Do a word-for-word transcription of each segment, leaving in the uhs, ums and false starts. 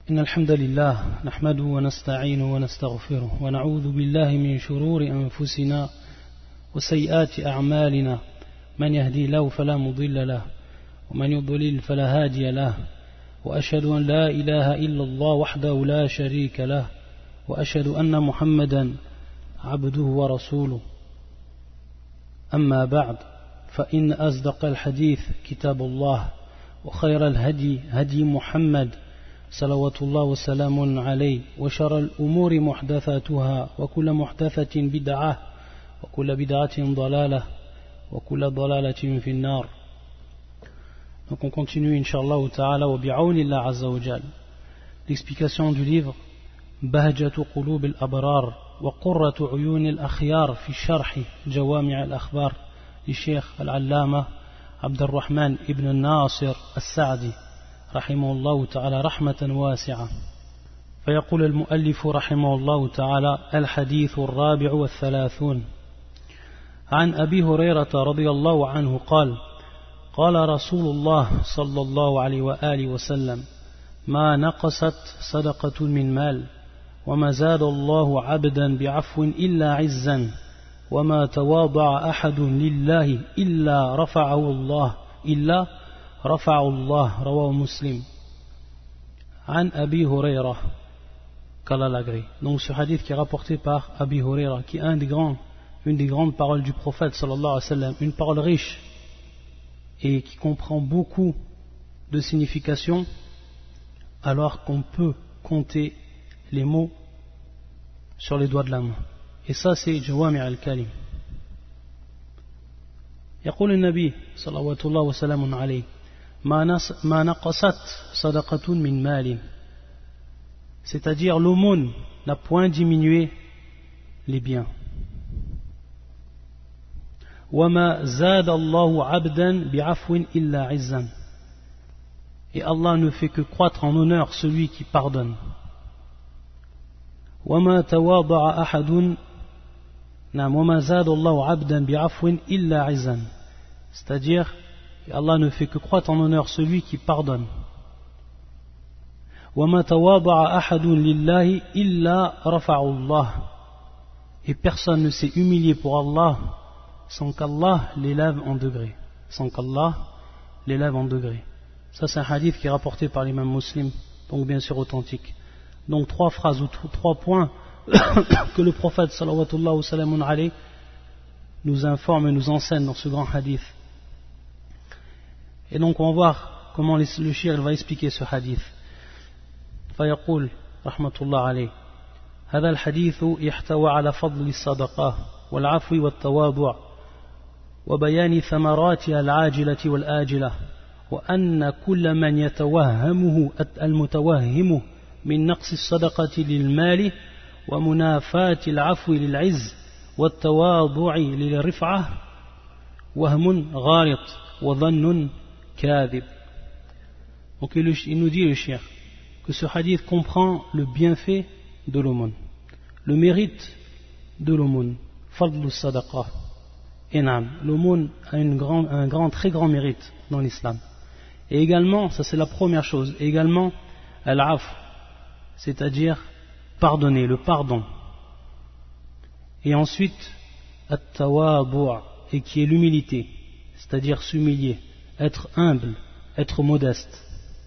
إن الحمد لله نحمده ونستعينه ونستغفره ونعوذ بالله من شرور أنفسنا وسيئات أعمالنا من يهدي له فلا مضل له ومن يضلل فلا هادي له وأشهد أن لا إله إلا الله وحده لا شريك له وأشهد أن محمدا عبده ورسوله أما بعد فإن أصدق الحديث كتاب الله وخير الهدي هدي محمد صلوات الله وسلام عليه وشر الأمور محدثاتها وكل محدثة بدعة وكل بدعة ضلالة وكل ضلالة في النار. Donc on continue Inch'Allah ta'ala wa bi'awnillah azza wa jal l'explication du livre Bahjatu Qulub al-Abrar wa Qurratu Uyun al-Akhyar fi Sharh Jawami' al-Akhbar li Sheikh al-Allama Abdurrahman ibn Nasir al-Sa'di رحمه الله تعالى رحمة واسعة. فيقول المؤلف رحمه الله تعالى الحديث الرابع والثلاثون عن أبي هريرة رضي الله عنه قال قال رسول الله صلى الله عليه وآله وسلم ما نقصت صدقة من مال وما زاد الله عبدا بعفو إلا عزا وما تواضع أحد لله إلا رفعه الله إلا رفع الله رواه مسلم عن أبي هريرة قال l'agré. Donc ce hadith qui est rapporté par Abi Huraira, qui est un des grands, une des grandes paroles du prophète sallallahu alayhi wa sallam, une parole riche et qui comprend beaucoup de significations, alors qu'on peut compter les mots sur les doigts de la main. Et ça c'est Jawami' al-Kalim. يقول النبي صلوات الله وسلام عليه ما نقصت صدقة من مال, c'est-à-dire l'aumône n'a point diminué les biens. وما زاد الله عبدا بعفو إلا عزا, et Allah ne fait que croître en honneur celui qui pardonne. وما تواضع أحد نعم وما زاد الله عبدا بعفو إلا عزا, c'est-à-dire Allah ne fait que croître en honneur celui qui pardonne. وما تواضع أحد لله إلا رفعه الله, et personne ne s'est humilié pour Allah sans qu'Allah l'élève en degré, sans qu'Allah l'élève en degré. Ça c'est un hadith qui est rapporté par l'imam Muslim, donc bien sûr authentique. Donc trois phrases ou trois points que le prophète sallallahu wa sallam alayhi nous informe et nous enseigne dans ce grand hadith. Et donc on va voir comment le shir va expliquer ce hadith. فيقول رحمة الله عليه هذا الحديث يحتوي على فضل الصدقة والعفو والتواضع وبيان ثمراتها العاجلة والآجلة وأن كل من يتوهمه المتوهم من نقص الصدقة للمال ومنافاة العفو للعز والتواضع للرفعة وهم غارط وظن كاذب. Donc il nous dit le shir que ce hadith comprend le bienfait de l'aumône, le mérite de l'aumône, fadlu sadaqa. Et nam, l'aumône a une grand, un grand, très grand mérite dans l'islam. Et également, ça c'est la première chose, également al-af, c'est-à-dire pardonner, le pardon. Et ensuite at-tawadu', et qui est l'humilité, c'est-à-dire s'humilier, être humble, être modeste.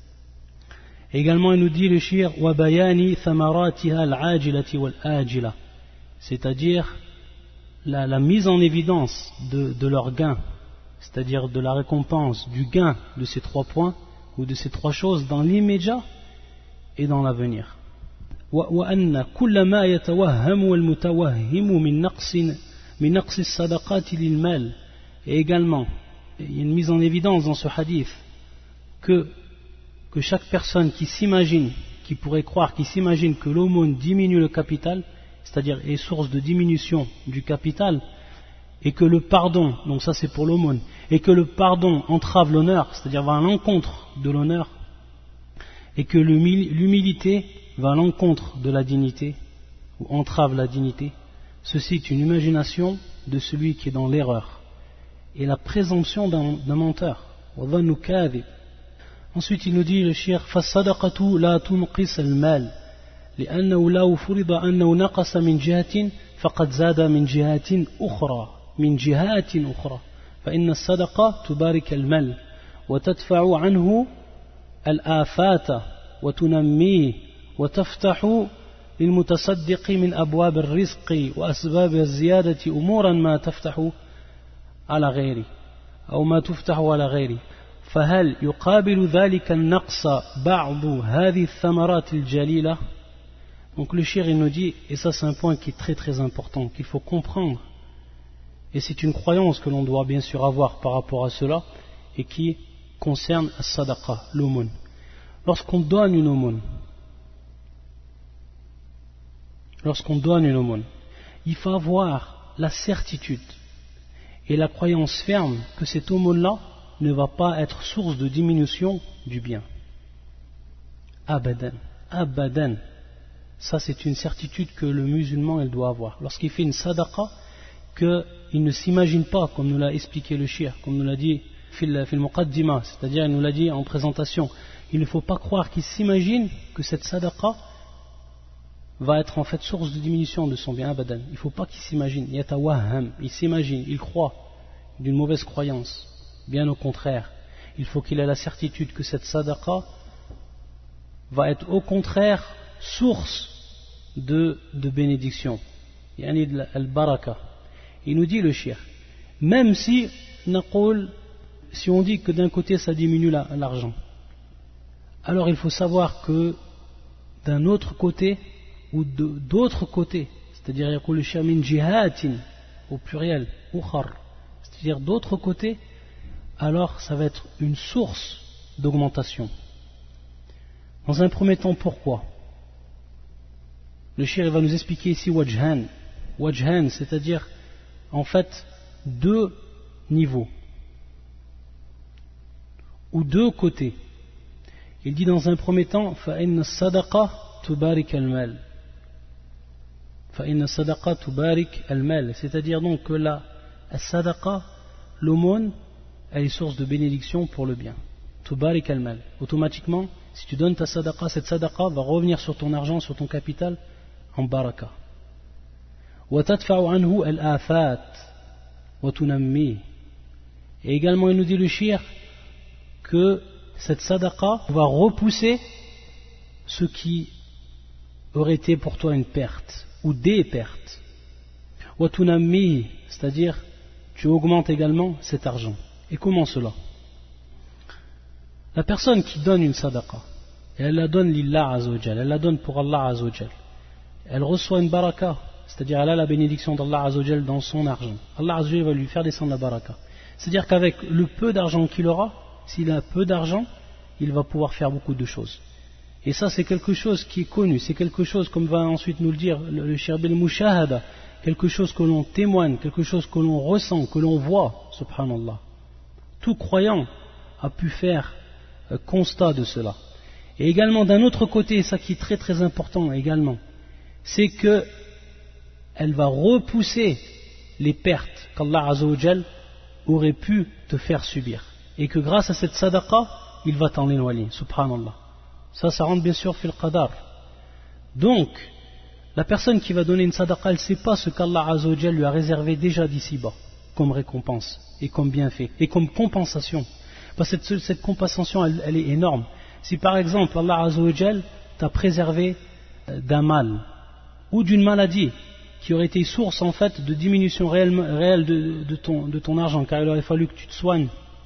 Et également il nous dit le shir wa bayani thamaratiha al-ajilati wal-ajila, c'est-à-dire la, la mise en évidence de, de leur gain, c'est-à-dire de la récompense, du gain de ces trois points ou de ces trois choses dans l'immédiat et dans l'avenir. وأن كل ما يتوهم المتوهم من نقص من نقص الصدقات للمال. Et également il y a une mise en évidence dans ce hadith que, que chaque personne qui s'imagine, qui pourrait croire, qui s'imagine que l'aumône diminue le capital, c'est-à-dire est source de diminution du capital, et que le pardon, donc ça c'est pour l'aumône, et que le pardon entrave l'honneur, c'est-à-dire va à l'encontre de l'honneur, et que l'humilité va à l'encontre de la dignité, ou entrave la dignité, ceci est une imagination de celui qui est dans l'erreur et la présomption d'un menteur. Ensuite, il nous dit le cheikh فالصدقة لا تنقص المال لأنه لو فرض أنه نقص من جهة فقد زاد من جهات أخرى من جهات أخرى فإن الصدقة تبارك المال وتدفع عنه الآفات وتنميه وتفتح للمتصدق من أبواب الرزق وأسباب الزيادة أمورا ما تفتح على غيره أو ما تفتح على غيره فهل يقابل ذلك النقص بعض هذه الثمرات الجليلة. Donc le cheikh il nous dit, et ça c'est un point qui est très très important, qu'il faut comprendre, et c'est une croyance que l'on doit bien sûr avoir par rapport à cela, et qui concerne as-sadaqa, l'aumône. Lorsqu'on donne une aumône, lorsqu'on donne une aumône, il faut avoir la certitude et la croyance ferme que cette aumône-là ne va pas être source de diminution du bien. Abadan, abadan. Ça c'est une certitude que le musulman il doit avoir. Lorsqu'il fait une sadaqa, qu'il ne s'imagine pas, comme nous l'a expliqué le cheikh, comme nous l'a dit fil muqaddima, c'est-à-dire il nous l'a dit en présentation, il ne faut pas croire qu'il s'imagine que cette sadaqa va être en fait source de diminution de son bien, abadan. Il ne faut pas qu'il s'imagine, yatawahham, il s'imagine, il croit d'une mauvaise croyance. Bien au contraire, il faut qu'il ait la certitude que cette sadaqa va être au contraire source de, de bénédiction, yani de al-baraka. Il nous dit le cheikh, même si naqul, si on dit que d'un côté ça diminue la, l'argent, alors il faut savoir que d'un autre côté ou de, d'autres côtés, c'est-à-dire yaqul le cheikh min jihatin au pluriel, ukhar, c'est-à-dire d'autres côtés, alors ça va être une source d'augmentation. Dans un premier temps, pourquoi? Le cheikh va nous expliquer ici wajhan, wajhan, c'est-à-dire en fait deux niveaux ou deux côtés. Il dit dans un premier temps فَإِنَّ الصَّدَقَةَ تُبَارِكَ الْمَالِ فَإِنَّ الصَّدَقَةَ تُبَارِكَ الْمَالِ, c'est-à-dire donc que la sadaqa, l'aumône, elle est source de bénédiction pour le bien. Tubarik al-mal. Automatiquement, si tu donnes ta sadaqa, cette sadaqa va revenir sur ton argent, sur ton capital, en baraka. Wa tadfa'u anhu al-afat wa tunammi. Et également, il nous dit le cheikh que cette sadaqa va repousser ce qui aurait été pour toi une perte ou des pertes. Wa tunammi, c'est-à-dire tu augmentes également cet argent. Et comment cela? La personne qui donne une sadaqa, et elle la donne lillah azawajal, elle la donne pour Allah azawajal, elle reçoit une baraka, c'est-à-dire elle a la bénédiction d'Allah azawajal dans son argent. Allah azawajal va lui faire descendre la baraka. C'est-à-dire qu'avec le peu d'argent qu'il aura, s'il a peu d'argent, il va pouvoir faire beaucoup de choses. Et ça c'est quelque chose qui est connu, c'est quelque chose, comme va ensuite nous le dire le, le cheikh bil mushahada, quelque chose que l'on témoigne, quelque chose que l'on ressent, que l'on voit, subhanallah. Tout croyant a pu faire euh, constat de cela. Et également d'un autre côté, ça qui est très très important également, c'est que elle va repousser les pertes qu'Allah Azzawajal aurait pu te faire subir. Et que grâce à cette sadaqa, il va t'en éloigner, subhanallah. Ça, ça rentre bien sûr fil qadar. Donc, la personne qui va donner une sadaqa, elle ne sait pas ce qu'Allah Azzawajal lui a réservé déjà d'ici-bas, comme récompense, et comme bienfait, et comme compensation. Parce que cette, cette compensation, elle, elle est énorme. Si par exemple, Allah Azzawajal t'a préservé d'un mal, ou d'une maladie, qui aurait été source en fait de diminution réelle, réelle de, de, ton, de ton argent, car il aurait fallu que tu te soignes,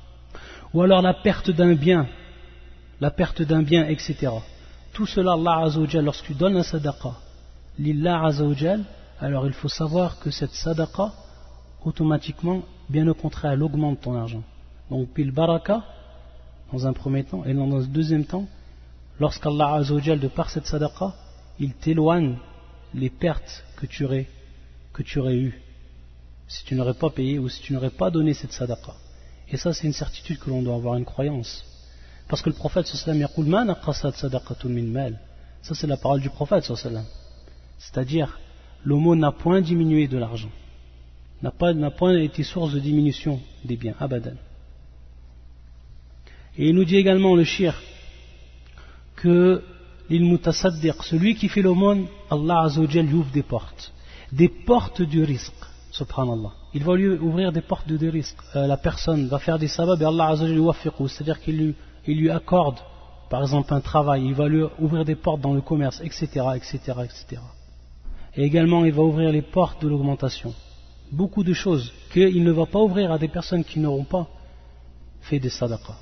ou alors la perte d'un bien, la perte d'un bien, et cetera. Tout cela, Allah Azzawajal, lorsque tu donnes la sadaqa, lillah Azzawajal, alors il faut savoir que cette sadaqa, automatiquement, bien au contraire, elle augmente ton argent. Donc, bil baraka, dans un premier temps, et dans un deuxième temps, lorsqu'Allah Azzawajal, de par cette sadaqa, il t'éloigne les pertes que tu aurais, que tu aurais eues, si tu n'aurais pas payé ou si tu n'aurais pas donné cette sadaqa. Et ça, c'est une certitude que l'on doit avoir, une croyance. Parce que le prophète sallallahu alayhi wa sallam yaqul ma naqasat sadaqatun min mal. Ça, c'est la parole du prophète sallallahu alayhi wa sallam. C'est-à-dire, l'aumône n'a point diminué de l'argent, n'a pas, n'a point été source de diminution des biens, abadan. Et il nous dit également le shir que l'ilmutasaddiq, celui qui fait l'aumône, Allah Azza wa Jal lui ouvre des portes, des portes du risque, subhanallah. Il va lui ouvrir des portes de risque. Euh, la personne va faire des sabab et Allah Azza wa Jal lui waffiqu, c'est-à-dire qu'il lui, il lui accorde, par exemple, un travail, il va lui ouvrir des portes dans le commerce, et cetera, et cetera, et cetera. Et également, il va ouvrir les portes de l'augmentation. Beaucoup de choses qu'il ne va pas ouvrir à des personnes qui n'auront pas fait des sadaqas.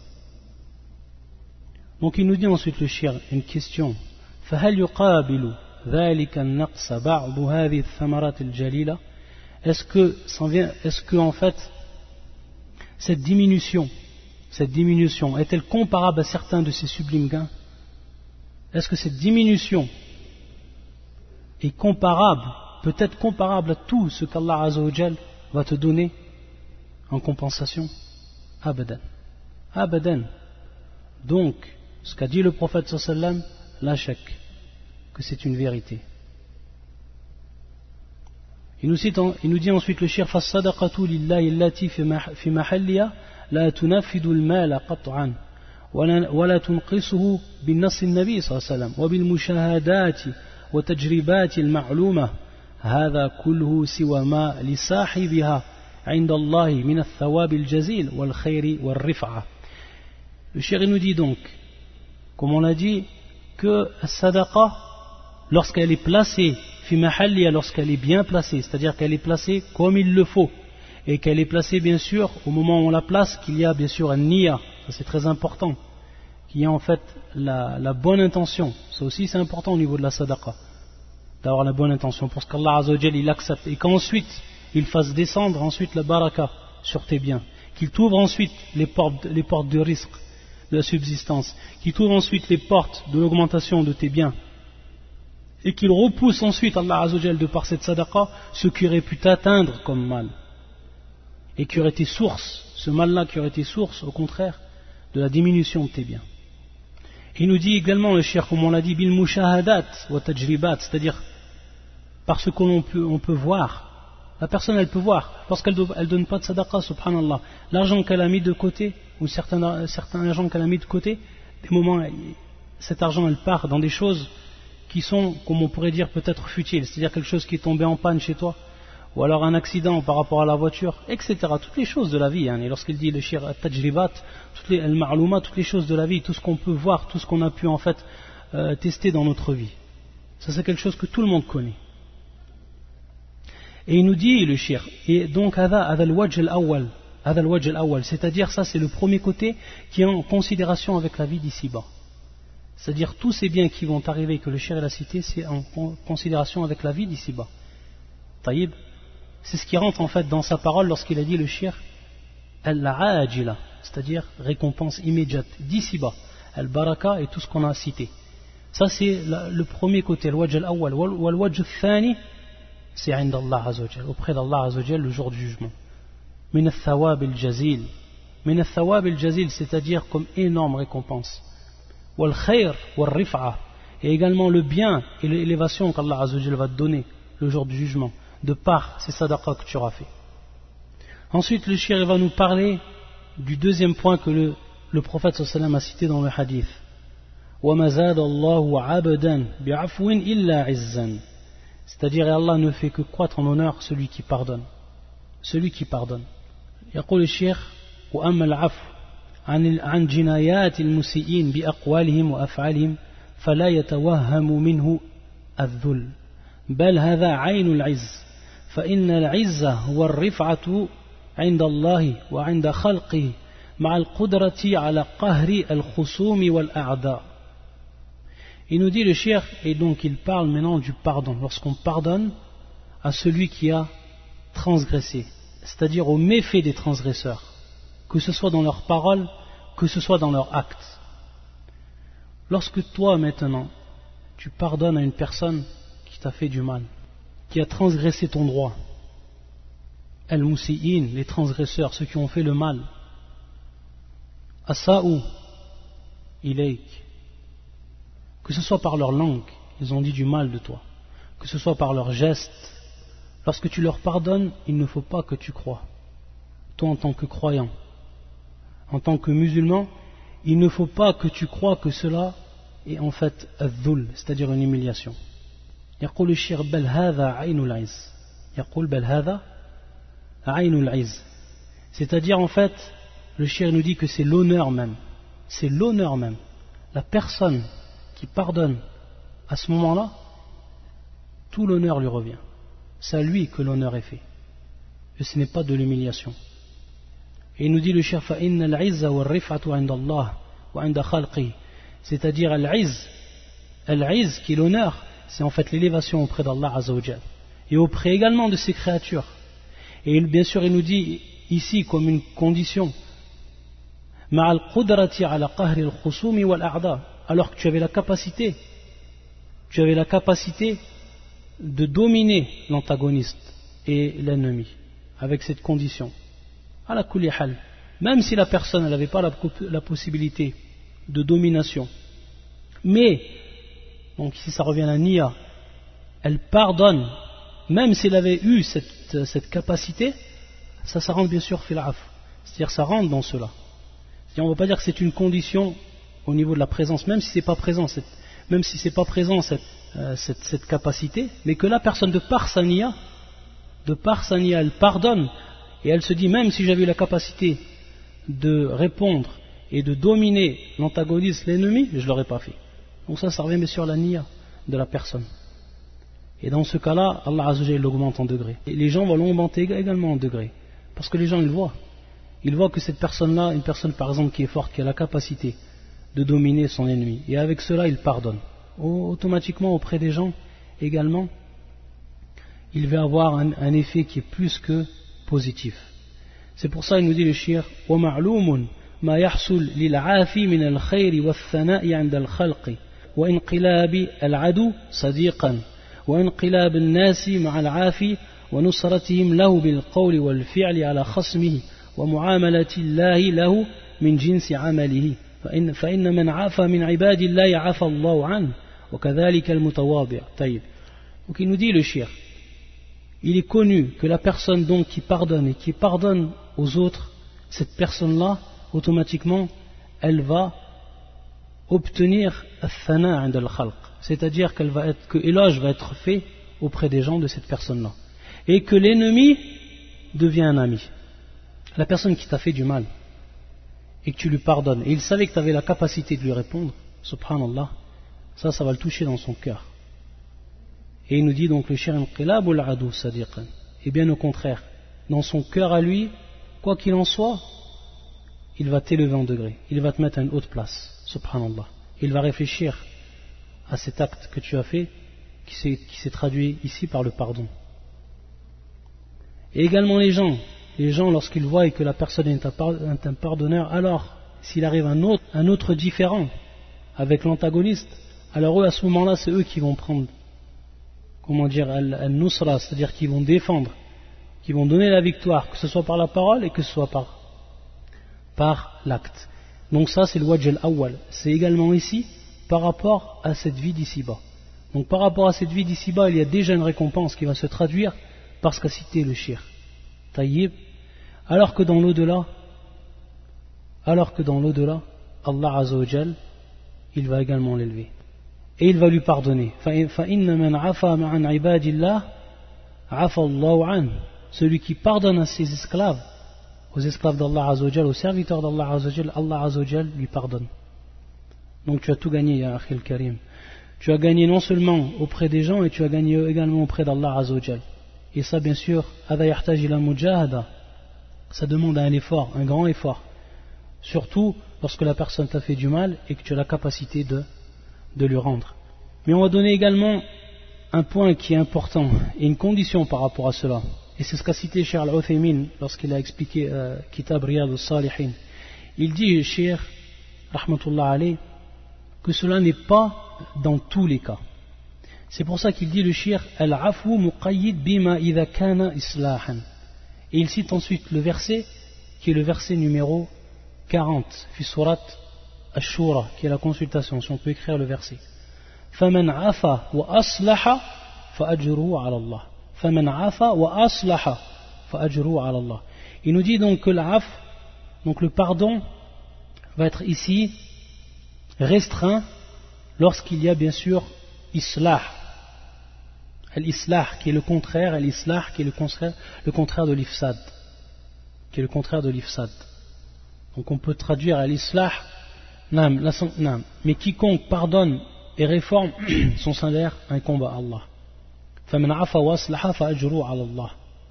Donc il nous dit ensuite le shir une question. فهل يقابل ذلك النقص بعض هذه الثمرات الجليلة؟ Est-ce que, est-ce que en fait cette diminution, cette diminution est-elle comparable à certains de ces sublimes gains? Est-ce que cette diminution est comparable, peut-être comparable à tout ce qu'Allah Azza wa Jal va te donner en compensation? Abadan. Abadan. Donc, ce qu'a dit le prophète sallallahu alayhi wa sallam, la shak, que c'est une vérité. Il nous, cite, il nous dit ensuite le shir فَالصَّدَقَةُ لِلَّهِ الَّتِي فِي مَحَلِّهَا لَا تُنَفِّدُ الْمَالَ قَطْعًا ولا تنقصه بالنص النبي صلى الله عليه وسلم وبالمشاهدات وتجربات المعلومة هذا كله سوى ما لصاحبها عند الله من الثواب الجزيل والخير والرفعة. Le shir nous dit donc, comme on l'a dit, que la sadaqa, lorsqu'elle est placée fi mahalliya, lorsqu'elle est bien placée, c'est-à-dire qu'elle est placée comme il le faut, et qu'elle est placée bien sûr au moment où on la place, qu'il y a bien sûr un niya, ça c'est très important, qu'il y a en fait la, la bonne intention, ça aussi c'est important au niveau de la sadaqa, d'avoir la bonne intention, pour qu'Allah Azza wa Jal il accepte, et qu'ensuite il fasse descendre ensuite la baraka sur tes biens, qu'il t'ouvre ensuite les portes, les portes de risque, de la subsistance, qu'il t'ouvre ensuite les portes de l'augmentation de tes biens, et qu'il repousse ensuite Allah Azza wa Jal de par cette sadaqa ce qui aurait pu t'atteindre comme mal, et qui aurait été source, ce mal-là qui aurait été source au contraire de la diminution de tes biens. Il nous dit également le shir, comme on l'a dit, bil mushahadat wa tajribat, c'est-à-dire parce que l'on peut, on peut voir, la personne elle peut voir, parce qu'elle ne donne pas de sadaqa, subhanallah, l'argent qu'elle a mis de côté, ou certains, certains argent qu'elle a mis de côté, des moments, cet argent elle part dans des choses qui sont, comme on pourrait dire, peut-être futiles, c'est-à-dire quelque chose qui est tombé en panne chez toi, ou alors un accident par rapport à la voiture, et cetera. Toutes les choses de la vie, hein. Et lorsqu'il dit le shir at-tajribat, toutes les al-ma'louma, toutes les choses de la vie, tout ce qu'on peut voir, tout ce qu'on a pu en fait euh, tester dans notre vie. Ça c'est quelque chose que tout le monde connaît. Et il nous dit le shir, et donc hadha al-wajh al-awwal, hadha al-wajh al-awwal, c'est-à-dire ça c'est le premier côté qui est en considération avec la vie d'ici-bas. C'est-à-dire tous ces biens qui vont arriver, que le shir a cité, c'est en considération avec la vie d'ici-bas. Taïb. C'est ce qui rentre en fait dans sa parole lorsqu'il a dit le shir al-ajila, c'est-à-dire récompense immédiate d'ici-bas, al-baraka et tout ce qu'on a cité. Ça c'est le premier côté, al-wajh al-awwal, wal-wajh al-thani, c'est inda Allah Azza wa Jal, auprès d'Allah Azza wa Jal le jour du jugement. Min al-thawab al-jazil, min al-thawab al-jazil, c'est-à-dire comme énorme récompense. Wal khair wal rif'a, et également le bien et l'élévation qu'Allah Azza wa Jal va te donner le jour du jugement, de par ces sadaqas que tu auras fait. Ensuite le shir va nous parler du deuxième point que le, le prophète sallallahu alayhi wa sallam a cité dans le hadith. وَمَا زَادَ اللَّهُ عَبْدًا بِعَفْوٍ إِلَّا عِزًّا, c'est-à-dire Allah ne fait que croître en honneur celui qui pardonne, celui qui pardonne. يقول الشيخ وأما العفو عن عن جنايات المسيئين بأقوالهم وأفعالهم فلا يتوهم منه الذل بل هذا عين العز فإن العزة هو الرفعة عند الله وعند خلقه مع القدرة على قهر الخصوم والأعداء. Il nous dit le cheikh, et donc il parle maintenant du pardon, lorsqu'on pardonne à celui qui a transgressé, c'est-à-dire aux méfaits des transgresseurs, que ce soit dans leurs paroles, que ce soit dans leurs actes. Lorsque toi maintenant tu pardonnes à une personne qui t'a fait du mal, qui a transgressé ton droit, al-musi'in, les transgresseurs, ceux qui ont fait le mal, asa'u ilayk, que ce soit par leur langue, ils ont dit du mal de toi, que ce soit par leurs gestes, lorsque tu leur pardonnes, il ne faut pas que tu crois, toi en tant que croyant, en tant que musulman, il ne faut pas que tu crois que cela est en fait الذل, c'est-à-dire une humiliation. يقول الشيخ بل هذا عين العز يقول بل هذا عين العز, c'est-à-dire en fait le shir nous dit que c'est l'honneur même, c'est l'honneur même. La personne qui pardonne à ce moment-là, tout l'honneur lui revient. C'est à lui que l'honneur est fait. Et ce n'est pas de l'humiliation. Et il nous dit le shir فَإِنَّ الْعِزَّ وَالرِّفْعَةُ عِنْدَ اللَّهِ وَعِنْدَ خَلْقِهِ, c'est-à-dire al-izz, al-izz qui est l'honneur, c'est en fait l'élévation auprès d'Allah Azza wa Jal et auprès également de ses créatures. Et bien sûr il nous dit ici comme une condition مع القدرة على قهر الخصوم والأعداء, alors que tu avais la capacité tu avais la capacité de dominer l'antagoniste et l'ennemi avec cette condition. Ala kulli hal, même si la personne n'avait pas la, la possibilité de domination, mais donc ici ça revient à la niya, elle pardonne même s'il avait eu cette, cette capacité, ça, ça rentre bien sûr fil af, c'est-à-dire ça rentre dans cela. C'est-à-dire on ne va pas dire que c'est une condition au niveau de la présence, même si c'est pas présent, cette, même si c'est pas présent cette, euh, cette, cette capacité, mais que la personne de par sa niya, de par sa niya, elle pardonne et elle se dit même si j'avais eu la capacité de répondre et de dominer l'antagoniste, l'ennemi, je ne l'aurais pas fait. Donc ça, ça revient bien sûr à la niya de la personne. Et dans ce cas-là, Allah Azza wa Jalla l'augmente en degrés. Et les gens vont l'augmenter également en degrés. Parce que les gens, ils voient. Ils voient que cette personne-là, une personne par exemple qui est forte, qui a la capacité de dominer son ennemi. Et avec cela, il pardonne. Automatiquement, auprès des gens, également, il va avoir un, un effet qui est plus que positif. C'est pour ça qu'il nous dit le shir وَمَعْلُومٌ مَا يَحْصُلْ لِلْعَافِ مِنَ الْخَيْرِ وَالثَّنَاءِ عند الخلق وإنقلاب العدو صديقا وإنقلاب الناس مع العافي ونصرتهم له بالقول والفعل على خصمه ومعاملة الله له من جنس عمله فإن, فإن من عافى من عباد الله عفى الله عنه وكذلك المتواضع. طيب. Donc il nous dit le shir, il est connu que la personne donc qui pardonne et qui pardonne aux autres, cette personne-là, automatiquement, elle va obtenir al-thana 'inda al-khalq, c'est-à-dire qu'elle va être, que éloge va être fait auprès des gens de cette personne-là, et que l'ennemi devient un ami. La personne qui t'a fait du mal et que tu lui pardonnes, et il savait que tu avais la capacité de lui répondre, subhanallah, ça, ça va le toucher dans son cœur. Et il nous dit donc le shir inqilab al-adu sadiqan, et bien au contraire, dans son cœur à lui, quoi qu'il en soit, il va t'élever en degré, il va te mettre à une haute place, subhanallah. Il va réfléchir à cet acte que tu as fait, qui s'est, qui s'est traduit ici par le pardon. Et également les gens, les gens lorsqu'ils voient que la personne est un pardonneur, alors s'il arrive un autre, un autre différent avec l'antagoniste, alors eux à ce moment-là c'est eux qui vont prendre, comment dire, al-nusra, c'est-à-dire qu'ils vont défendre, qui vont donner la victoire, que ce soit par la parole et que ce soit par, par l'acte. Donc ça c'est le wajh al-awwal, c'est également ici par rapport à cette vie d'ici-bas. Donc par rapport à cette vie d'ici-bas, il y a déjà une récompense qui va se traduire par ce qu'a cité le shir. Taïb. Alors que dans l'au-delà, alors que dans l'au-delà, Allah Azza wa Jal, il va également l'élever. Et il va lui pardonner. فَإِنَّ مَنْ عَفَى مَعَنْ عِبَادِ اللَّهِ عَفَى اللَّهُ عَنْهُ. Celui qui pardonne à ses esclaves, aux esclaves d'Allah Azza wa Jal, aux serviteurs d'Allah Azza wa Jal, Allah Azza wa Jal lui pardonne. Donc tu as tout gagné, ya Akhil Karim. Tu as gagné non seulement auprès des gens, et tu as gagné également auprès d'Allah Azza wa Jal. Et ça, bien sûr, ça demande un effort, un grand effort. Surtout lorsque la personne t'a fait du mal et que tu as la capacité de, de lui rendre. Mais on va donner également un point qui est important et une condition par rapport à cela. Et c'est ce qu'a cité Cheikh Al-Uthaymin lorsqu'il a expliqué euh, Kitab Riyad al-Salihin. Il dit, Cheikh, rahmatullah alayh, que cela n'est pas dans tous les cas. C'est pour ça qu'il dit le shir al-afu muqayyid bima idha kana islahan. Et il cite ensuite le verset qui est le verset numéro quarante fi surat ash-shura, qui est la consultation, si on peut écrire le verset. Faman afa wa aslaha fa ajruhu ala Allah. Faman afa wa aslaha fa ajruhu ala Allah. Il nous dit donc que l'af, donc le pardon, va être ici restreint lorsqu'il y a bien sûr islah, al-islah qui est le contraire, al-islah qui est le contraire, le contraire de l'ifsad, qui est le contraire de l'ifsad. Donc on peut traduire al-islah, nam, la, nam, mais quiconque pardonne et réforme son salaire incombe à Allah. فَمَنْ عَفَى وَأَصْلَحَ فَأَجْرُهُ عَلَى اللَّهِ.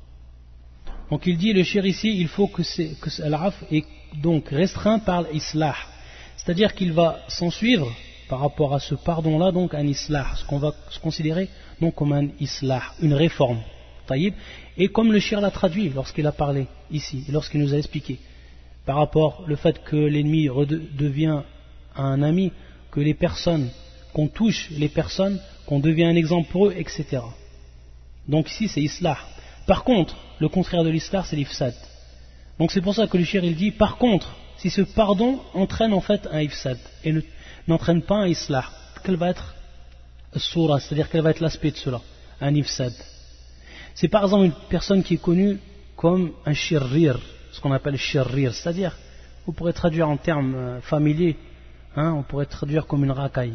Donc il dit, le shir ici, il faut que, c'est, que l'af est donc restreint par l'islah, c'est-à-dire qu'il va s'en suivre par rapport à ce pardon-là, donc un islah, ce qu'on va se considérer donc comme un islah, une réforme. Taïb. Et comme le shir l'a traduit lorsqu'il a parlé ici, lorsqu'il nous a expliqué, par rapport au fait que l'ennemi devient un ami, que les personnes, qu'on touche les personnes, qu'on devient un exemple pour eux, et cetera. Donc ici c'est islah. Par contre, le contraire de l'islah c'est l'ifsad. Donc c'est pour ça que le shir il dit, par contre, si ce pardon entraîne en fait un ifsad et ne, n'entraîne pas un islah, quel va être soura, c'est-à-dire quel va être l'aspect de cela, un ifsad. C'est par exemple une personne qui est connue comme un shirrir, ce qu'on appelle shirrir, c'est-à-dire, vous pourrez traduire en termes familiers, hein, on pourrait traduire comme une racaille.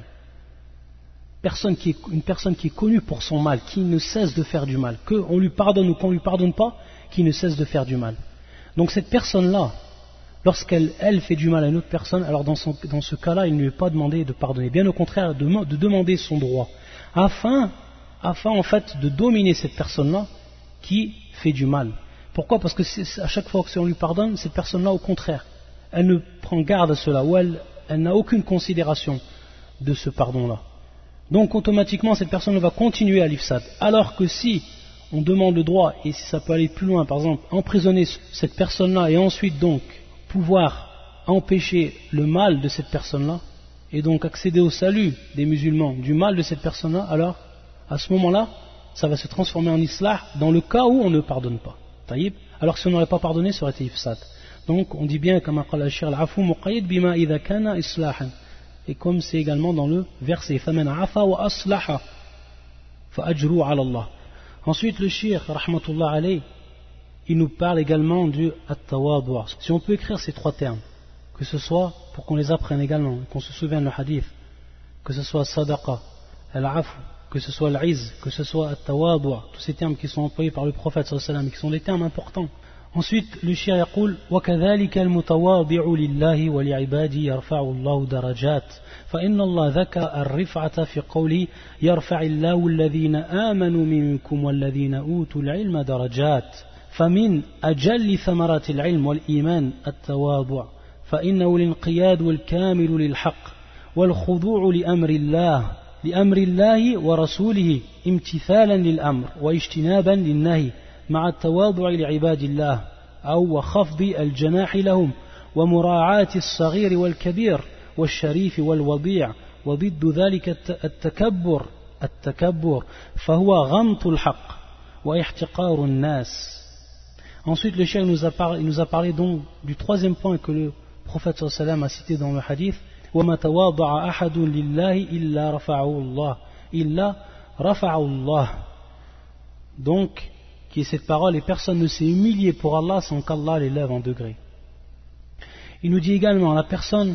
Personne qui est, une personne qui est connue pour son mal, qui ne cesse de faire du mal, qu'on lui pardonne ou qu'on ne lui pardonne pas, qui ne cesse de faire du mal. Donc cette personne-là, lorsqu'elle elle fait du mal à une autre personne, alors dans, son, dans ce cas-là, il ne lui est pas demandé de pardonner, bien au contraire, de, de demander son droit, afin, afin en fait de dominer cette personne-là qui fait du mal. Pourquoi ? Parce que c'est, à chaque fois que si on lui pardonne, cette personne-là, au contraire, elle ne prend garde à cela, ou elle, elle n'a aucune considération de ce pardon-là. Donc automatiquement cette personne va continuer à l'ifsad. Alors que si on demande le droit, et si ça peut aller plus loin, par exemple emprisonner cette personne-là et ensuite donc pouvoir empêcher le mal de cette personne-là, et donc accéder au salut des musulmans du mal de cette personne-là, alors à ce moment-là ça va se transformer en islah dans le cas où on ne pardonne pas. Taïb. Alors que si on n'aurait pas pardonné, ça aurait été ifsad. Donc on dit bien comme qala al-shir al-afu muqayyad bima idha kana islahan. Et comme c'est également dans le verset فَمَنْ عَفَى وَأَصْلَحَ فَأَجْرُهُ عَلَى اللَّهِ. Ensuite le shir rahmatullah alayh, il nous parle également du at-tawadu'. Si on peut écrire ces trois termes, que ce soit pour qu'on les apprenne également, qu'on se souvienne le hadith, que ce soit sadaqa, al-afu, que ce soit al-izz, que ce soit at-tawadu', tous ces termes qui sont employés par le prophète sallallahu alayhi wa sallam, qui sont des termes importants. Ensuite, le shir يقول وكذلك المتواضع لله ولعباده يرفع الله درجات فإن الله ذكر الرفعة في قوله يرفع الله الذين آمنوا منكم والذين أوتوا العلم درجات فمن أجل ثمرات العلم والإيمان التواضع فإنه الانقياد والكامل للحق والخضوع لأمر الله لأمر الله ورسوله امتثالا للأمر واجتنابا للنهي مع التواضع لعباد الله أو وخفض الجناح لهم ومراعاة الصغير والكبير والشريف والوضيع وضد ذلك التكبر التكبر فهو غمط الحق واحتقار الناس. Ensuite le cheikh nous a parlé, nous a parlé donc du troisième point que le prophète sallallahu alayhi wa sallam a cité dans le hadith وما تواضع أحد لله إلا رفعه الله إلا رفعه الله. Donc qui est cette parole, et personne ne s'est humilié pour Allah sans qu'Allah l'élève en degré. Il nous dit également, la personne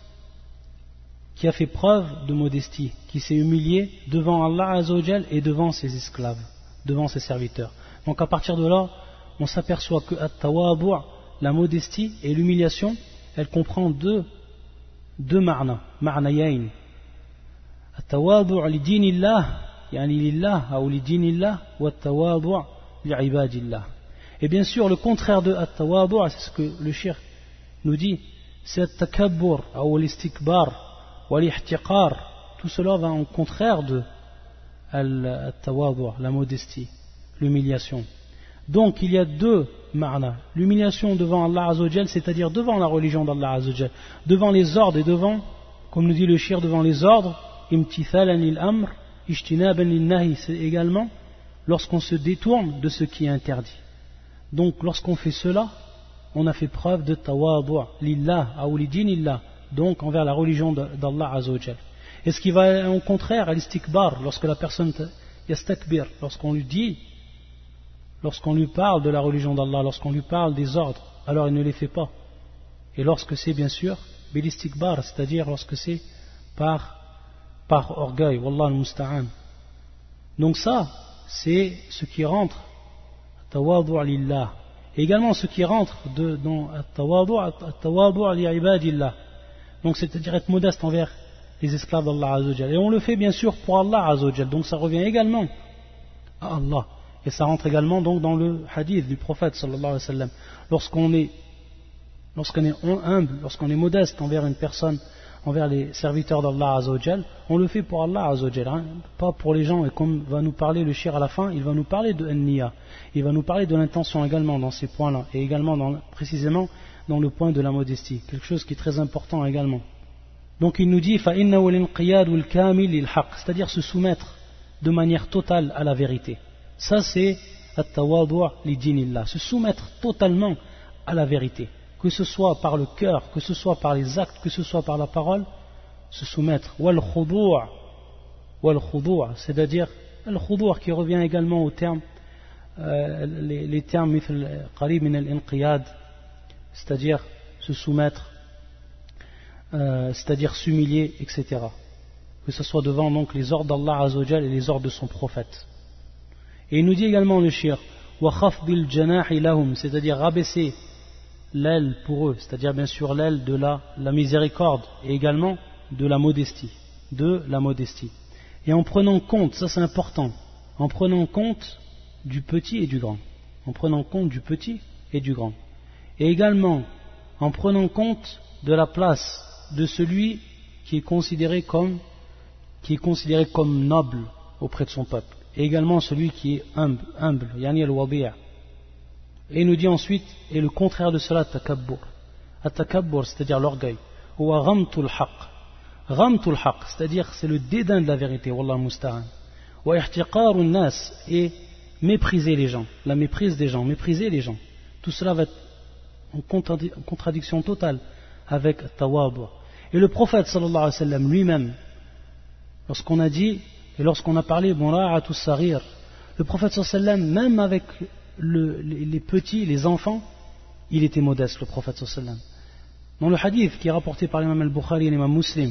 qui a fait preuve de modestie, qui s'est humilié devant Allah Azzawajal et devant ses esclaves, devant ses serviteurs. Donc à partir de là, on s'aperçoit que at-tawadu', la modestie et l'humiliation, elle comprend deux, deux ma'na, ma'nayayn. At-tawadu' li dinillah, yani lillah, ou li dinillah, wa at-tawadu' et bien sûr le contraire de at-tawadu', c'est ce que le shir nous dit, c'est at-takabbur ou l'istikbar ou l'ihtiqar. Tout cela va en contraire de at-tawadu', la modestie, l'humiliation. Donc il y a deux ma'na, l'humiliation devant Allah Azzawajal, c'est-à-dire devant la religion d'Allah Azzawajal, devant les ordres et devant, comme nous dit le shir, devant les ordres, imtithalan lil amr ijtinaban lin nahi, c'est également lorsqu'on se détourne de ce qui est interdit. Donc lorsqu'on fait cela, on a fait preuve de tawadu' lillah ou li dinillah, donc envers la religion d'Allah Azzawajal. Et ce qui va au contraire à l'istikbar, lorsque la personne yastakbir, lorsqu'on lui dit, lorsqu'on lui parle de la religion d'Allah, lorsqu'on lui parle des ordres, alors il ne les fait pas. Et lorsque c'est bien sûr bilistikbar, c'est-à-dire lorsque c'est par, par orgueil, wallah al-musta'an. Donc ça, c'est ce qui rentre tawadu' lillah. Et également ce qui rentre de, dans tawadu' li'ibadillah. Donc c'est-à-dire être modeste envers les esclaves d'Allah Azzawajal. Et on le fait bien sûr pour Allah Azzawajal. Donc ça revient également à Allah. Et ça rentre également donc dans le hadith du prophète sallallahu alayhi wa sallam. Lorsqu'on est, lorsqu'on est humble, lorsqu'on est modeste envers une personne, envers les serviteurs d'Allah Azzawajal, on le fait pour Allah Azzawajal, hein, pas pour les gens. Et comme va nous parler le shir à la fin, il va nous parler de an-niyya, il va nous parler de l'intention également dans ces points-là, et également dans, précisément dans le point de la modestie, quelque chose qui est très important également. Donc il nous dit فَإِنَّهُ الْإِنْقِيَادُ الْكَامِلِ لِلْحَقِّ, c'est-à-dire se soumettre de manière totale à la vérité. Ça c'est at-tawadu' li dinillah, se soumettre totalement à la vérité, que ce soit par le cœur, que ce soit par les actes, que ce soit par la parole, se soumettre. Wal khudu', wal khudu', c'est-à-dire al khudu' qui revient également au terme, euh, les, les termes mithl qarib min al-inqiyad, c'est-à-dire se soumettre, euh, c'est-à-dire s'humilier, et cetera. Que ce soit devant donc les ordres d'Allah Azzawajal et les ordres de son prophète. Et il nous dit également le shir wa khafdil janahi lahum, c'est-à-dire rabaisser l'aile pour eux, c'est-à-dire bien sûr l'aile de la, la miséricorde et également de la modestie, de la modestie. Et en prenant compte, ça c'est important, en prenant compte du petit et du grand, en prenant compte du petit et du grand. Et également en prenant compte de la place de celui qui est considéré comme, qui est considéré comme noble auprès de son peuple. Et également celui qui est humble, humble, yani al-wadi'. Et il nous dit ensuite, et le contraire de cela, takabbur. At-takabbur, c'est-à-dire l'orgueil. Ou ghamtul haqq. Ghamtul haqq, c'est-à-dire c'est le dédain de la vérité, wallah musta'an. Wa ihtiqarun nas, et mépriser les gens, la méprise des gens, mépriser les gens. Tout cela va être en contradiction totale avec tawadu'. Et le prophète sallallahu alayhi wa sallam lui-même, lorsqu'on a dit, et lorsqu'on a parlé, mura'atu saghir, le prophète sallallahu alayhi wa sallam, même avec le, les, les petits, les enfants, il était modeste, le prophète sallallahu alayhi wa sallam. Dans le hadith qui est rapporté par l'imam al-Bukhari et l'imam Muslim,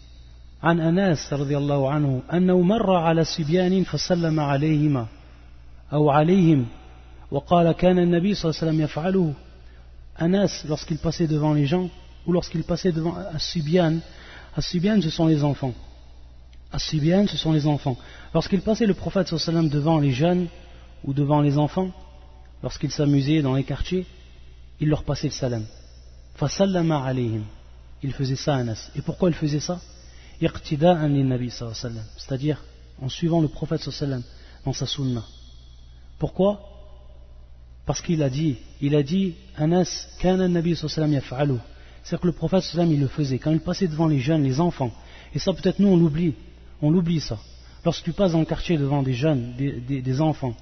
عن أنس رضي الله عنه أنه مر على سبيان فسلم عليهما أو عليهم وقال كان النبي صلى الله عليه وسلم يفعله. Anas, lorsqu'il passait devant les gens, ou lorsqu'il passait devant As-Sibyan, As-Sibyan ce sont les enfants. As-Sibyan ce sont les enfants. Lorsqu'il passait le prophète sallallahu alayhi wa sallam devant les jeunes ou devant les enfants, lorsqu'il s'amusait dans les quartiers, il leur passait le salam. Fasallama alayhim. Il faisait ça à Anas. Et pourquoi il faisait ça? Iqtida'an lin-nabi sallallahu alayhi wa sallam, c'est-à-dire en suivant le prophète sallallahu alayhi wa sallam dans sa sunna. Pourquoi? Parce qu'il a dit, il a dit, Anas, kana an-nabi sallallahu alayhi wa sallam yaf'alu. C'est-à-dire que le prophète sallallahu alayhi wa sallam il le faisait quand il passait devant les jeunes, les enfants. Et ça peut-être nous on l'oublie, on l'oublie ça. Lorsque tu passes dans le quartier devant des jeunes, des, des, des enfants,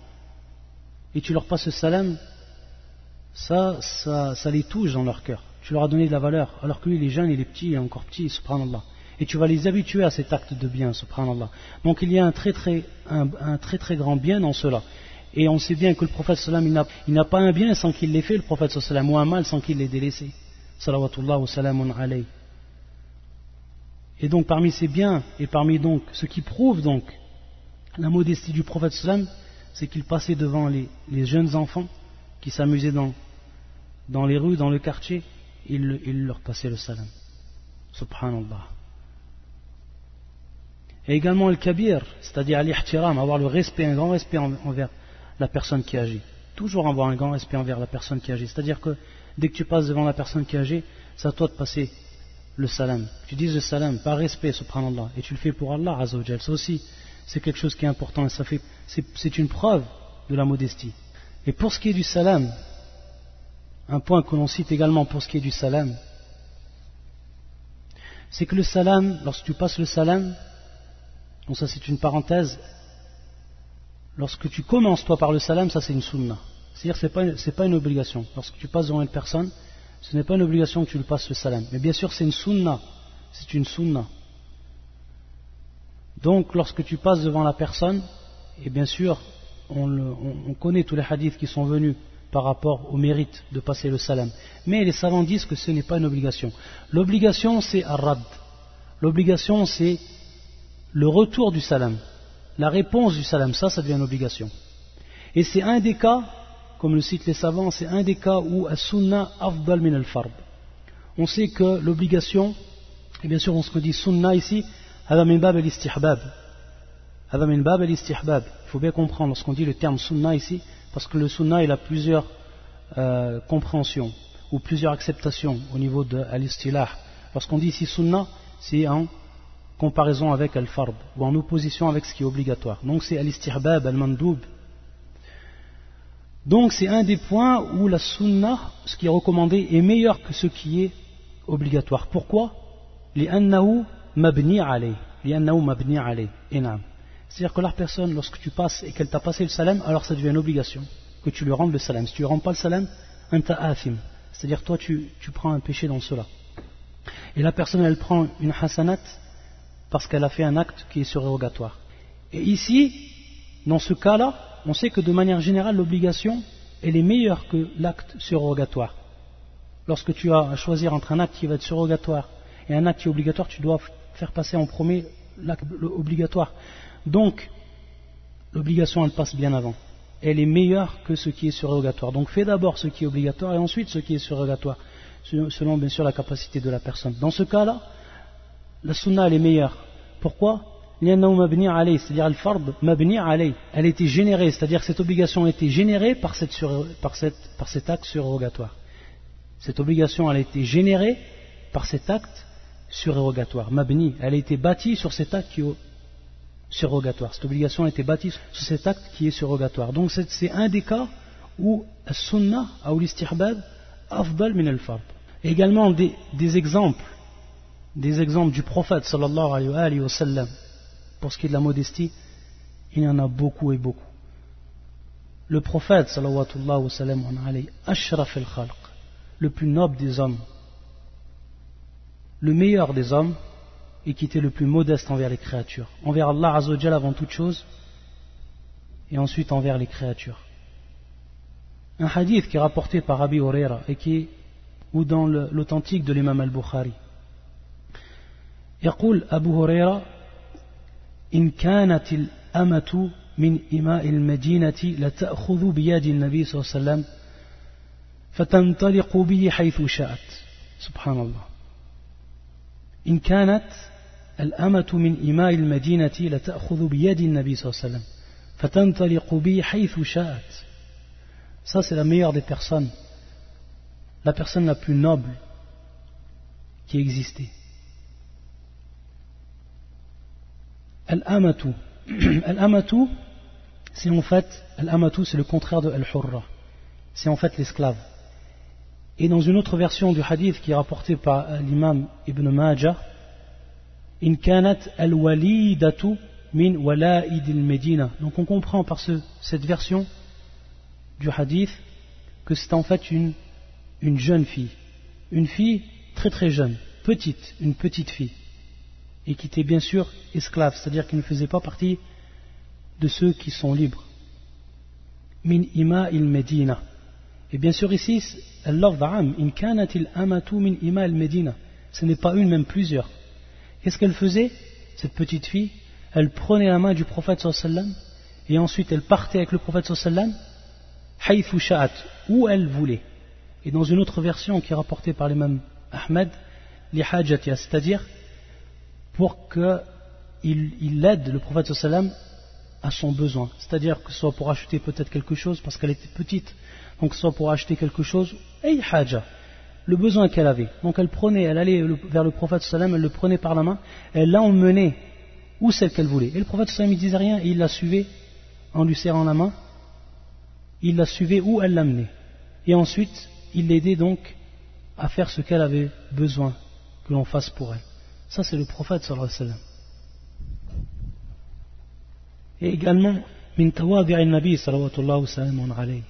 et tu leur passes le salam, ça, ça, ça les touche dans leur cœur. Tu leur as donné de la valeur, alors que lui il est jeune, il est petit, il est encore petit, subhanallah. Et tu vas les habituer à cet acte de bien, subhanallah. Donc il y a un très très, un, un très, très grand bien dans cela. Et on sait bien que le prophète sallam, il n'a, il n'a pas un bien sans qu'il l'ait fait, le prophète sallam, ou un mal sans qu'il l'ait délaissé. Salawatullah wa salamun alayhi. Et donc parmi ces biens, et parmi donc ce qui prouve donc la modestie du prophète sallam, c'est qu'il passait devant les, les jeunes enfants qui s'amusaient dans, dans les rues, dans le quartier, il, il leur passait le salam. Subhanallah. Et également le kabir, c'est-à-dire l'ihtiram, avoir le respect, un grand respect envers la personne qui agit. Toujours avoir un grand respect envers la personne qui agit. C'est-à-dire que dès que tu passes devant la personne qui agit, c'est à toi de passer le salam. Tu dis le salam par respect, subhanallah, et tu le fais pour Allah Azzawajal. Ça aussi, c'est quelque chose qui est important et ça fait, c'est, c'est une preuve de la modestie. Et pour ce qui est du salam, un point que l'on cite également pour ce qui est du salam, c'est que le salam, lorsque tu passes le salam, donc ça c'est une parenthèse, lorsque tu commences toi par le salam, ça c'est une sunna. C'est-à-dire que ce n'est pas, c'est pas une obligation. Lorsque tu passes devant une personne, ce n'est pas une obligation que tu lui passes le salam. Mais bien sûr c'est une sunna. C'est une sunna. Donc lorsque tu passes devant la personne, et bien sûr on, le, on, on connaît tous les hadiths qui sont venus par rapport au mérite de passer le salam. Mais les savants disent que ce n'est pas une obligation. L'obligation c'est ar-rad. L'obligation c'est le retour du salam, la réponse du salam, ça, ça devient une obligation. Et c'est un des cas, comme le citent les savants, c'est un des cas où as-sunnah afdal min al-fard. On sait que l'obligation, et bien sûr on se dit sunnah ici, hada min bab al-istihbab. Hada min bab al-istihbab. Il faut bien comprendre lorsqu'on dit le terme sunnah ici, parce que le sunnah il a plusieurs euh, compréhensions ou plusieurs acceptations au niveau de al-istilah. Lorsqu'on dit ici sunnah, c'est en comparaison avec al-fard ou en opposition avec ce qui est obligatoire. Donc c'est al-istihbab, al-mandoub. Donc c'est un des points où la sunnah, ce qui est recommandé, est meilleur que ce qui est obligatoire. Pourquoi? لأنه مبني عليه. لأنه مبني عليه. C'est-à-dire que la personne, lorsque tu passes et qu'elle t'a passé le salam, alors ça devient une obligation que tu lui rendes le salam. Si tu ne rends pas le salam, anta athim. C'est-à-dire toi tu, tu prends un péché dans cela. Et la personne elle prend une hasanat parce qu'elle a fait un acte qui est surérogatoire. Et ici, dans ce cas-là, on sait que de manière générale, l'obligation, elle est meilleure que l'acte surérogatoire. Lorsque tu as à choisir entre un acte qui va être surérogatoire et un acte qui est obligatoire, tu dois faire passer en premier l'acte obligatoire. Donc, l'obligation, elle passe bien avant. Elle est meilleure que ce qui est surérogatoire. Donc, fais d'abord ce qui est obligatoire et ensuite ce qui est surérogatoire, selon bien sûr la capacité de la personne. Dans ce cas-là, la sunna elle est meilleure. Pourquoi? C'est-à-dire al-fard mabni alayh. Elle a été générée, c'est-à-dire que cette obligation a été générée par, cette sur, par, cette, par cet acte surérogatoire. Cette obligation elle a été générée par cet acte surérogatoire. Mabni, elle a été bâtie sur cet acte qui est surérogatoire. Cette obligation a été bâtie sur cet acte qui est surérogatoire. Donc c'est, c'est un des cas où as-sunnah ou l'istihbab afdal min al-fard. Également des, des exemples des exemples du prophète sallallahu alayhi wa sallam pour ce qui est de la modestie, il y en a beaucoup et beaucoup. Le prophète sallallahu alayhi wa sallam ashraf al-khalq, le plus noble des hommes, le meilleur des hommes et qui était le plus modeste envers les créatures, envers Allah azza wa jalla avant toute chose et ensuite envers les créatures. Un hadith qui est rapporté par Abi Huraira et qui est ou dans le, l'authentique de l'imam al-Bukhari. يقول أبو هريرة إن كانت الأمة من إماء المدينة لتأخذ بيد النبي صلى الله عليه وسلم فتنطلق به حيث شاءت سبحان الله إن كانت الأمة من إماء المدينة لتأخذ بيد النبي صلى الله عليه وسلم فتنطلق به حيث شاءت. Ça c'est la meilleure des personnes, la personne la plus noble qui existait. Al-amatu. Al-amatu, c'est en fait, al-amatu, c'est le contraire de al-hurra. C'est en fait l'esclave. Et dans une autre version du hadith qui est rapportée par l'imam Ibn Majah, in kanat al-walidatu min wala'id al-medina. Donc on comprend par ce, cette version du hadith que c'est en fait une, une jeune fille. Une fille très très jeune, petite, une petite fille. Et qui était bien sûr esclave, c'est-à-dire qui ne faisait pas partie de ceux qui sont libres. Min ima il medina. Et bien sûr ici, al-lafz in kanat al-amatu min ima al-medina. Ce n'est pas une, même plusieurs. Qu'est-ce qu'elle faisait, cette petite fille? Elle prenait la main du prophète sallallahu alayhi wa sallam et ensuite elle partait avec le prophète sallallahu alayhi wa sallam haythu sha'at, où elle voulait. Et dans une autre version qui est rapportée par l'imam Ahmed, li hajatiha, c'est-à-dire pour qu'il il aide le prophète sallam à son besoin, c'est-à-dire que ce soit pour acheter peut-être quelque chose parce qu'elle était petite, donc soit pour acheter quelque chose, ay haja, le besoin qu'elle avait. Donc elle prenait, elle allait vers le prophète sallam, elle le prenait par la main, elle l'a emmené où c'est qu'elle voulait. Et le prophète sallam il disait rien et il la suivait en lui serrant la main, il la suivait où elle l'amenait. Et ensuite il l'aidait donc à faire ce qu'elle avait besoin que l'on fasse pour elle. Ça c'est le prophète sallallahu alayhi wa sallam. Et également min tawadi' al-nabi sallallahu alayhi wa sallam.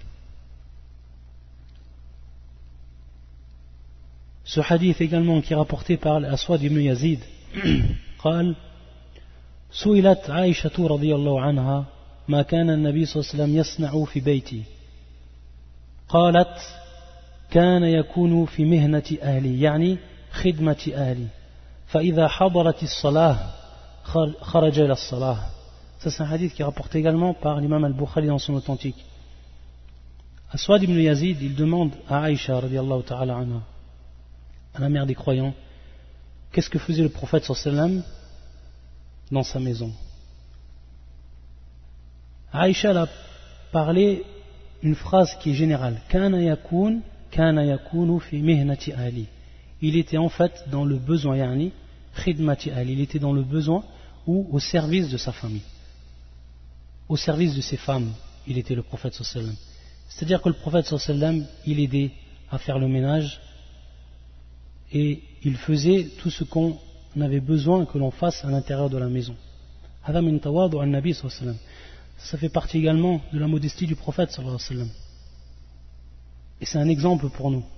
Ce hadith également qui est rapporté par Aswad ibn Yazid قال سئلت عائشة رضي الله عنها ما كان النبي صلى الله عليه وسلم يصنع في بيتي قالت كان يكون في مهنة أهلي يعني خدمة أهلي فإذا حضرت الصلاة خرج إلى الصلاة. Ça c'est un hadith qui est rapporté également par l'imam al-Bukhari dans son authentique. Aswad ibn Yazid, il demande à Aïcha radiyallahu ta'ala anha, à la mère des croyants, qu'est-ce que faisait le prophète sallallahu alayhi wa sallam dans sa maison. Aïcha a parlé une phrase qui est générale. Kana yakun, kana yakunu fi mihnati ahli. Il était en fait dans le besoin, yani khidmati ahli. Il était dans le besoin ou au service de sa famille. Au service de ses femmes, il était le prophète sallallahu alayhi wa sallam. C'est-à-dire que le prophète sallallahu alayhi wa sallam, il aidait à faire le ménage et il faisait tout ce qu'on avait besoin que l'on fasse à l'intérieur de la maison. Hada min tawadu an-nabi sallallahu alayhi wa sallam. Ça fait partie également de la modestie du prophète sallallahu alayhi wa sallam. Et c'est un exemple pour nous.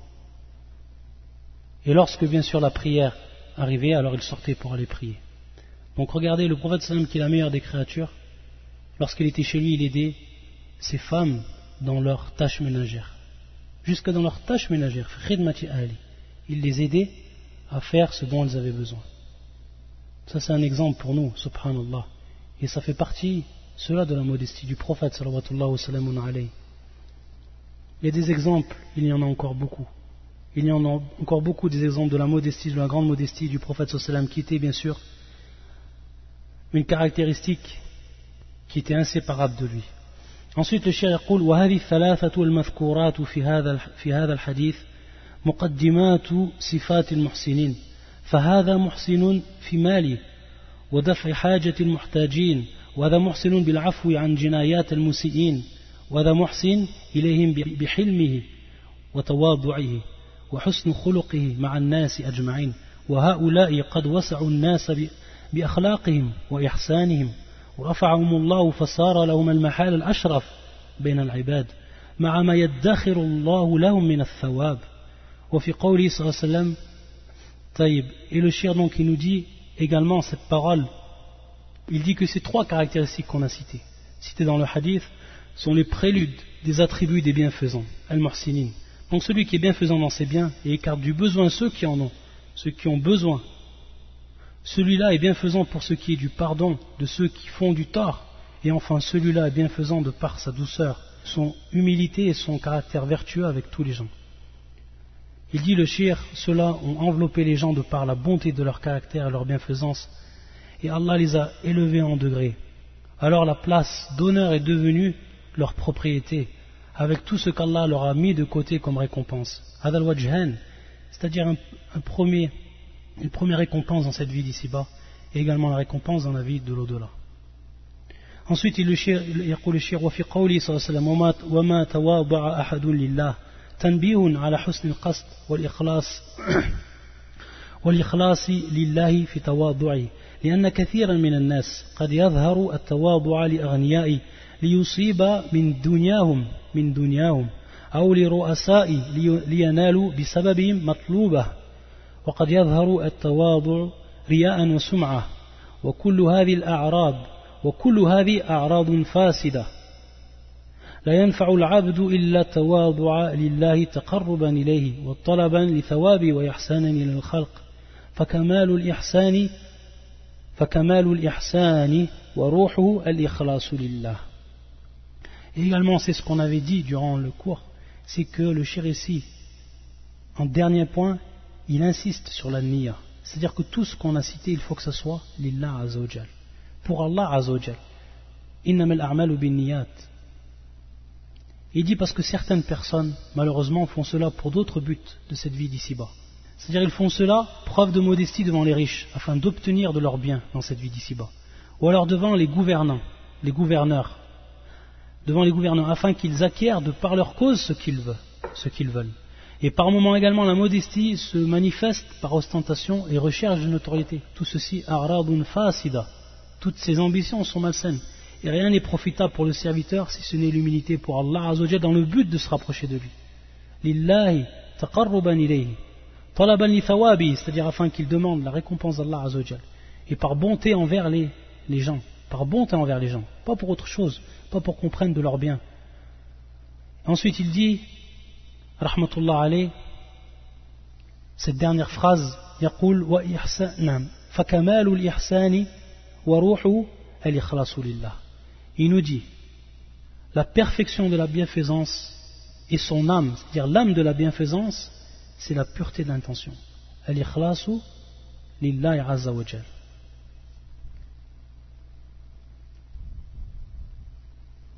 Et lorsque bien sûr la prière arrivait, alors il sortait pour aller prier. Donc regardez, le prophète sallallahu alayhi wa sallam, qui est la meilleure des créatures, lorsqu'il était chez lui, il aidait ses femmes dans leurs tâches ménagères. Jusque dans leurs tâches ménagères. Khidmati ahli. Il les aidait à faire ce dont elles avaient besoin. Ça c'est un exemple pour nous, subhanallah. Et ça fait partie, cela, de la modestie du prophète sallallahu alayhi wa sallam. Il y a des exemples, il y en a encore beaucoup. Il y en a encore beaucoup des exemples de la modestie, de la grande modestie du prophète sallallahu alayhi wa sallam, qui était bien sûr une caractéristique qui était inséparable de lui. Ensuite le cheikh يقول وهذه الثلاثة المذكورات في هذا في هذا الحديث مقدمات صفات المحسنين فهذا محسن في ماله ودفع حاجة المحتاجين وهذا محسن بالعفو عن جنايات المسيئين وهذا محسن إليهم بحلمه وتواضعه وحسن خلقه مع الناس أجمعين وهؤلاء قد وسعوا الناس بأخلاقهم وإحسانهم ورفعهم الله فصار لهم المحال الأشرف بين العباد مع ما يدخر الله لهم من الثواب وفي قوله صلى الله عليه وسلم طيب. Et le cheikh donc il nous dit également cette parole, il dit que ces trois caractéristiques qu'on a citées citées dans le hadith sont les préludes des attributs des bienfaisants, al-muhsinin. Donc celui qui est bienfaisant dans ses biens et écarte du besoin ceux qui en ont, ceux qui ont besoin. Celui-là est bienfaisant pour ce qui est du pardon de ceux qui font du tort. Et enfin, celui-là est bienfaisant de par sa douceur, son humilité et son caractère vertueux avec tous les gens. Il dit le shir, ceux-là ont enveloppé les gens de par la bonté de leur caractère et leur bienfaisance. Et Allah les a élevés en degrés. Alors la place d'honneur est devenue leur propriété, avec tout ce qu'Allah leur a mis de côté comme récompense. Hadal wajhan, c'est-à-dire un, un premier... une première récompense dans cette vie d'ici-bas et également la récompense dans la vie de l'au-delà. Ensuite il يقول الشيخ وفي قوله صلى الله عليه وسلم وما تواضع أحد لله تنبيه على حسن القصد والإخلاص والإخلاص لله في تواضعه لأن كثيرا من الناس قد يظهر التواضع لأغنياء ليصيب من دنياهم من دنياهم أو لرؤساء لينالوا بسببهم مطلوبه وقد يظهر التواضع رياء وسمعة وكل هذه الأعراض وكل هذه أعراض فاسدة لا ينفع العبد إلا التواضع لله تقربا إليه وطلبا لثوابه وإحسانا إلى الخلق فكمال الإحسان فكمال الإحسان وروحه الإخلاص لله. Et également c'est ce qu'on avait dit durant le cours, c'est que le shir ici, en dernier point, il insiste sur la niya. C'est-à-dire que tout ce qu'on a cité, il faut que ce soit lillah azza wa jal. Pour Allah azza wa jal. Innamal a'malu bin niyat. Il dit parce que certaines personnes, malheureusement, font cela pour d'autres buts de cette vie d'ici-bas. C'est-à-dire ils font cela preuve de modestie devant les riches, afin d'obtenir de leurs biens dans cette vie d'ici-bas. Ou alors devant les gouvernants, les gouverneurs, devant les gouvernants, afin qu'ils acquièrent de par leur cause ce qu'ils veulent. Ce qu'ils veulent. Et par moments également, la modestie se manifeste par ostentation et recherche de notoriété. Tout ceci, a'radun fasida. Toutes ces ambitions sont malsaines. Et rien n'est profitable pour le serviteur si ce n'est l'humilité pour Allah Azza wa Jalla dans le but de se rapprocher de lui. Lillahi taqarruban ilayhi. Talaban li thawabi, c'est-à-dire afin qu'il demande la récompense d'Allah Azza wa Jalla. Et par bonté envers les, les gens. Par bonté envers les gens. Pas pour autre chose. Pas pour qu'on prenne de leur bien. Ensuite, il dit rahmatullah alayh, cette dernière phrase, يقول وإحسان نعم فكمال الإحسان وروح الإخلاص لله. Il nous dit la perfection de la bienfaisance et son âme, c'est-à-dire l'âme de la bienfaisance, c'est la pureté d'intention. Al-ikhlasu lillahi azza wa jal.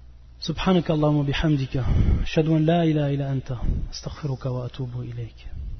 سبحانك اللهم وبحمدك أشهد أن لا إله إلا أنت أستغفرك وأتوب إليك.